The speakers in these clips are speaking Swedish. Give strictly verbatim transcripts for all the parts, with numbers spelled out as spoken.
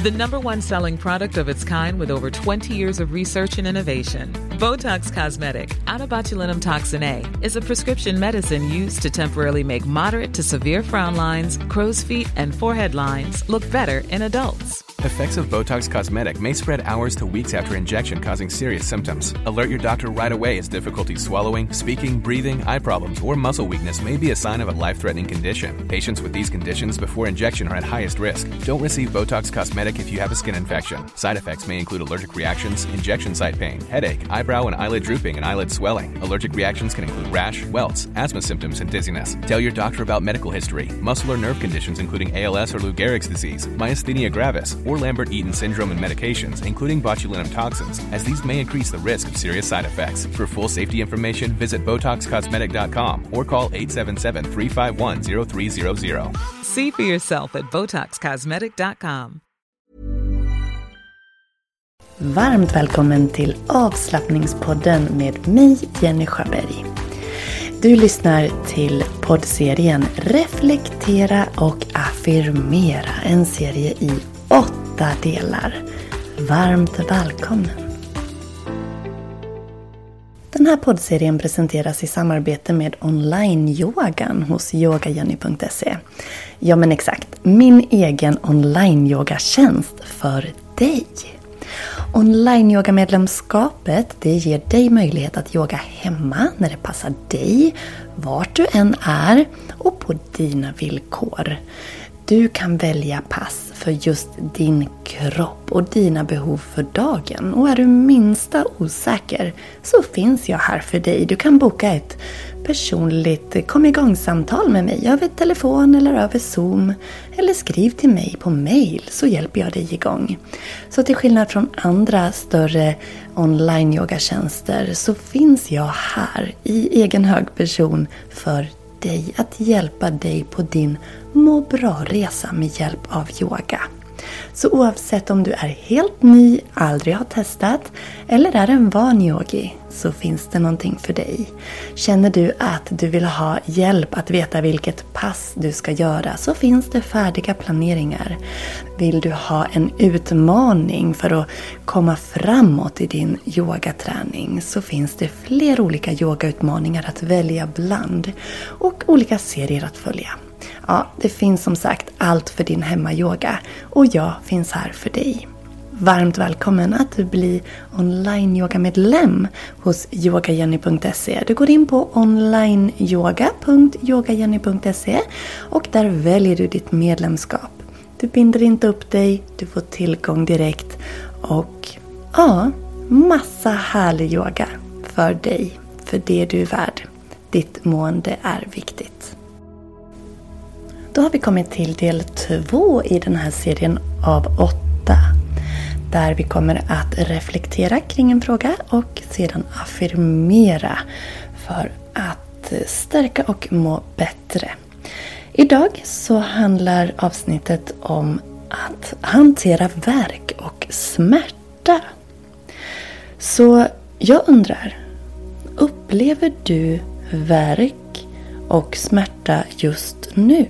The number one selling product of its kind with over twenty years of research and innovation. Botox Cosmetic, out of botulinum toxin A, is a prescription medicine used to temporarily make moderate to severe frown lines, crow's feet, and forehead lines look better in adults. Effects of Botox Cosmetic may spread hours to weeks after injection, causing serious symptoms. Alert your doctor right away as difficulty swallowing, speaking, breathing, eye problems, or muscle weakness may be a sign of a life-threatening condition. Patients with these conditions before injection are at highest risk. Don't receive Botox Cosmetic if you have a skin infection. Side effects may include allergic reactions, injection site pain, headache, eyebrow and eyelid drooping, and eyelid swelling. Allergic reactions can include rash, welts, asthma symptoms, and dizziness. Tell your doctor about medical history, muscle or nerve conditions including A L S or Lou Gehrig's disease, myasthenia gravis, or Lambert-Eaton syndrome, and medications, including botulinum toxins, as these may increase the risk of serious side effects. For full safety information, visit Botox Cosmetic dot com or call eight seven seven, three five one, zero three zero zero. See for yourself at Botox Cosmetic dot com. Varmt välkommen till avslappningspodden med mig, Jenny Sjöberg. Du lyssnar till poddserien Reflektera och affirmera, en serie i åtta delar. Varmt välkommen! Den här poddserien presenteras i samarbete med online-yogan hos yoga jenny punkt se. Ja men exakt, min egen online-yogatjänst för dig. Online-yoga-medlemskapet, det ger dig möjlighet att yoga hemma när det passar dig, vart du än är och på dina villkor. Du kan välja pass för just din kropp och dina behov för dagen. Och är du minsta osäker så finns jag här för dig. Du kan boka ett personligt kom igång-samtal med mig över telefon eller över Zoom. Eller skriv till mig på mail så hjälper jag dig igång. Så till skillnad från andra större online-yogatjänster så finns jag här i egen hög person för dig att hjälpa dig på din må bra-resa med hjälp av yoga. Så oavsett om du är helt ny, aldrig har testat eller är en van yogi så finns det någonting för dig. Känner du att du vill ha hjälp att veta vilket pass du ska göra så finns det färdiga planeringar. Vill du ha en utmaning för att komma framåt i din yogaträning så finns det fler olika yogautmaningar att välja bland och olika serier att följa. Ja, det finns som sagt allt för din hemmayoga och jag finns här för dig. Varmt välkommen att bli online-yoga-medlem hos yoga jenny punkt se. Du går in på onlineyoga punkt yoga jenny punkt se och där väljer du ditt medlemskap. Du binder inte upp dig, du får tillgång direkt och ja, massa härlig yoga för dig, för det du är värd. Ditt mående är viktigt. Då har vi kommit till del två i den här serien av åtta. Där vi kommer att reflektera kring en fråga och sedan affirmera för att stärka och må bättre. Idag så handlar avsnittet om att hantera värk och smärta. Så jag undrar, upplever du värk och smärta just nu?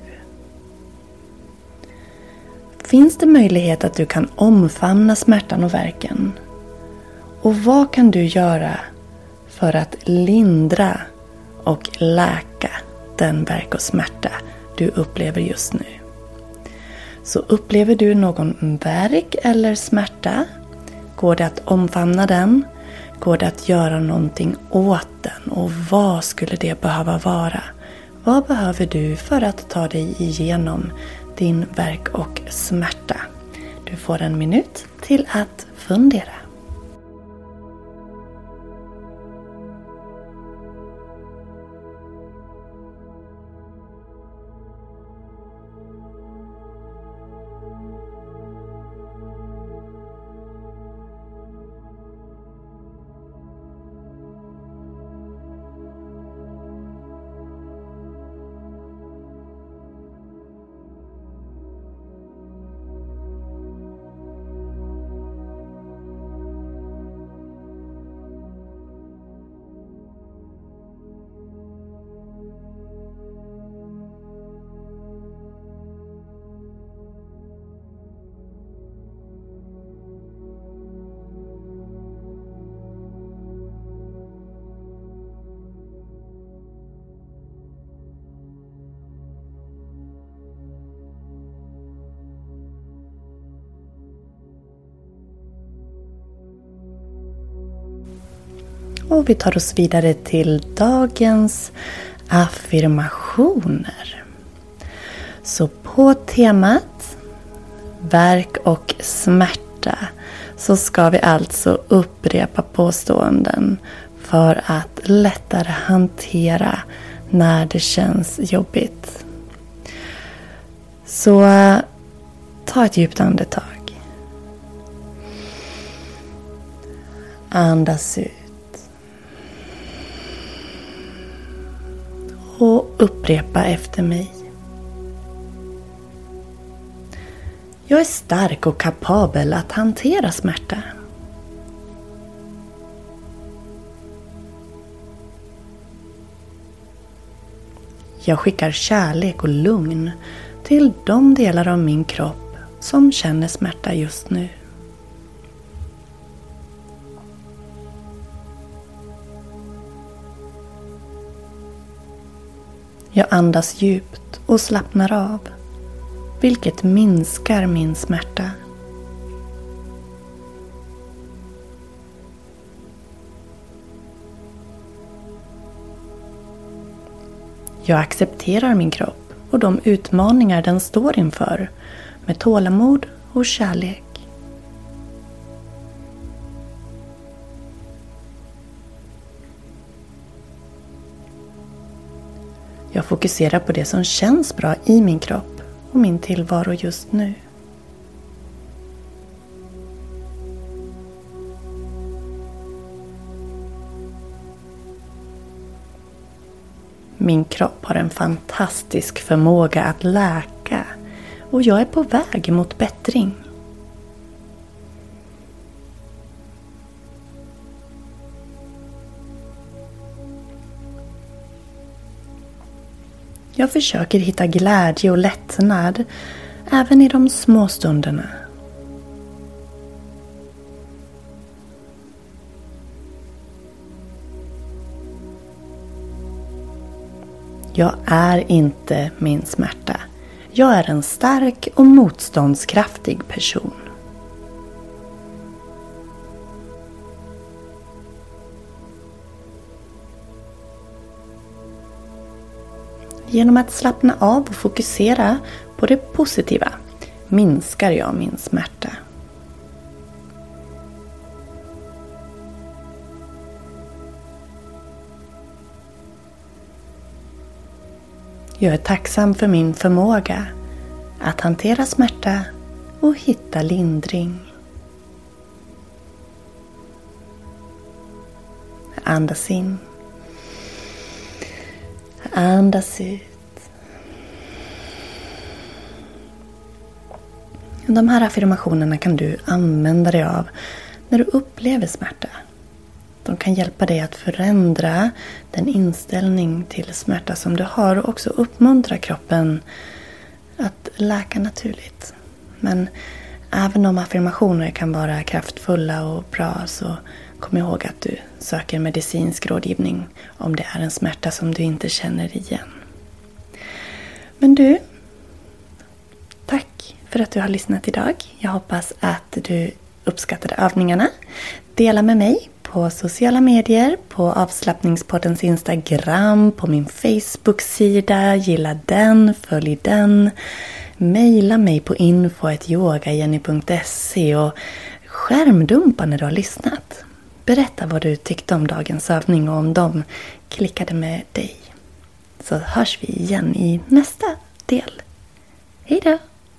Finns det möjlighet att du kan omfamna smärtan och värken? Och vad kan du göra för att lindra och läka den värk och smärta du upplever just nu? Så upplever du någon värk eller smärta? Går det att omfamna den? Går det att göra någonting åt den? Och vad skulle det behöva vara? Vad behöver du för att ta dig igenom din värk och smärta? Du får en minut till att fundera. Och vi tar oss vidare till dagens affirmationer. Så på temat värk och smärta så ska vi alltså upprepa påståenden för att lättare hantera när det känns jobbigt. Så ta ett djupt andetag. Andas ut. Och upprepa efter mig. Jag är stark och kapabel att hantera smärta. Jag skickar kärlek och lugn till de delar av min kropp som känner smärta just nu. Jag andas djupt och slappnar av, vilket minskar min smärta. Jag accepterar min kropp och de utmaningar den står inför med tålamod och kärlek. Jag fokuserar på det som känns bra i min kropp och min tillvaro just nu. Min kropp har en fantastisk förmåga att läka och jag är på väg mot bättring. Jag försöker hitta glädje och lättnad även i de små stunderna. Jag är inte min smärta. Jag är en stark och motståndskraftig person. Genom att slappna av och fokusera på det positiva minskar jag min smärta. Jag är tacksam för min förmåga att hantera smärta och hitta lindring. Andas in. Andas ut. De här affirmationerna kan du använda dig av när du upplever smärta. De kan hjälpa dig att förändra den inställning till smärta som du har och också uppmuntra kroppen att läka naturligt. Men även om affirmationer kan vara kraftfulla och bra så kom ihåg att du söker medicinsk rådgivning om det är en smärta som du inte känner igen. Men du, tack för att du har lyssnat idag. Jag hoppas att du uppskattade övningarna. Dela med mig på sociala medier, på Avslappningspoddens Instagram, på min Facebook-sida. Gilla den, följ den. Maila mig på info at yogajenny punkt se och skärmdumpa när du har lyssnat. Berätta vad du tyckte om dagens övning och om de klickade med dig. Så hörs vi igen i nästa del. Hej då!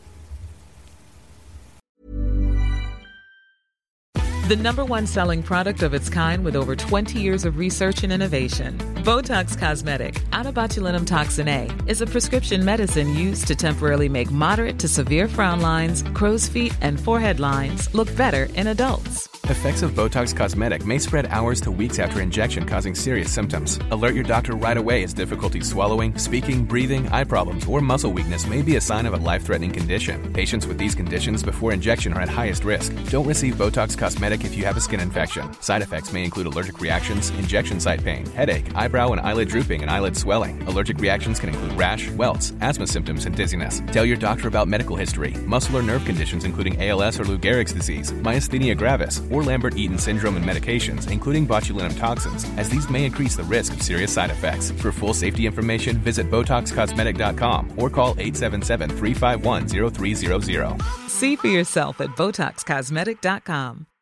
The number one selling product of its kind with over twenty years of research and innovation. Botox Cosmetic, out of botulinum toxin A, is a prescription medicine used to temporarily make moderate to severe frown lines, crow's feet, and forehead lines look better in adults. Effects of Botox Cosmetic may spread hours to weeks after injection, causing serious symptoms. Alert your doctor right away as difficulty swallowing, speaking, breathing, eye problems, or muscle weakness may be a sign of a life-threatening condition. Patients with these conditions before injection are at highest risk. Don't receive Botox Cosmetic if you have a skin infection. Side effects may include allergic reactions, injection site pain, headache, eyebrow and eyelid drooping, and eyelid swelling. Allergic reactions can include rash, welts, asthma symptoms, and dizziness. Tell your doctor about medical history, muscle or nerve conditions including A L S or Lou Gehrig's disease, myasthenia gravis, or Lambert-Eaton syndrome and medications, including botulinum toxins, as these may increase the risk of serious side effects. For full safety information, visit Botox Cosmetic dot com or call eight seven seven, three five one, zero three zero zero. See for yourself at Botox Cosmetic dot com.